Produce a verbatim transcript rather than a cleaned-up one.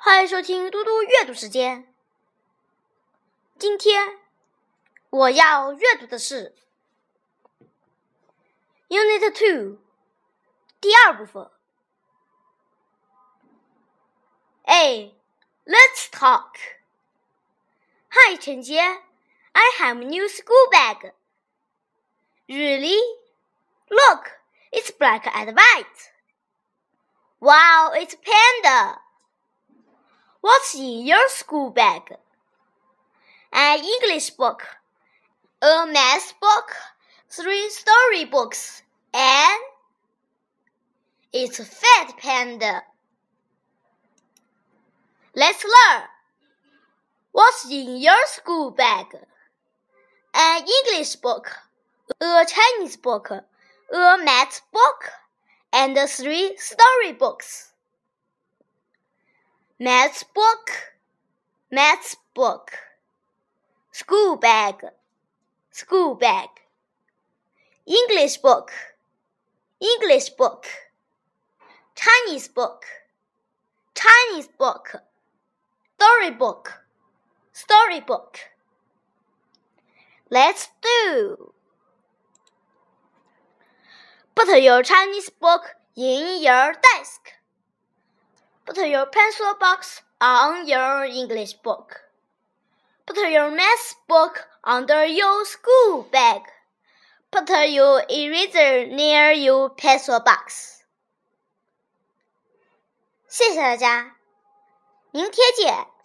欢迎收听嘟嘟阅读时间。今天我要阅读的是 Unit two 第二部分。A. Let's talk. Hi, 陈杰 I have a new school bag. Really? Look, it's black and white. Wow, it's panda. What's in your school bag? An English book, a math book, three story books, and it's a fat panda. Let's learn. What's in your school bag? An English book, a Chinese book, a math book, and three story books. Math book, math book. School bag, school bag. English book, English book. Chinese book, Chinese book. Story book, story book. Let's do. Put your Chinese book in your desk. Put your pencil box on your English book. Put your math book under your school bag. Put your eraser near your pencil box. 谢谢大家，明天见。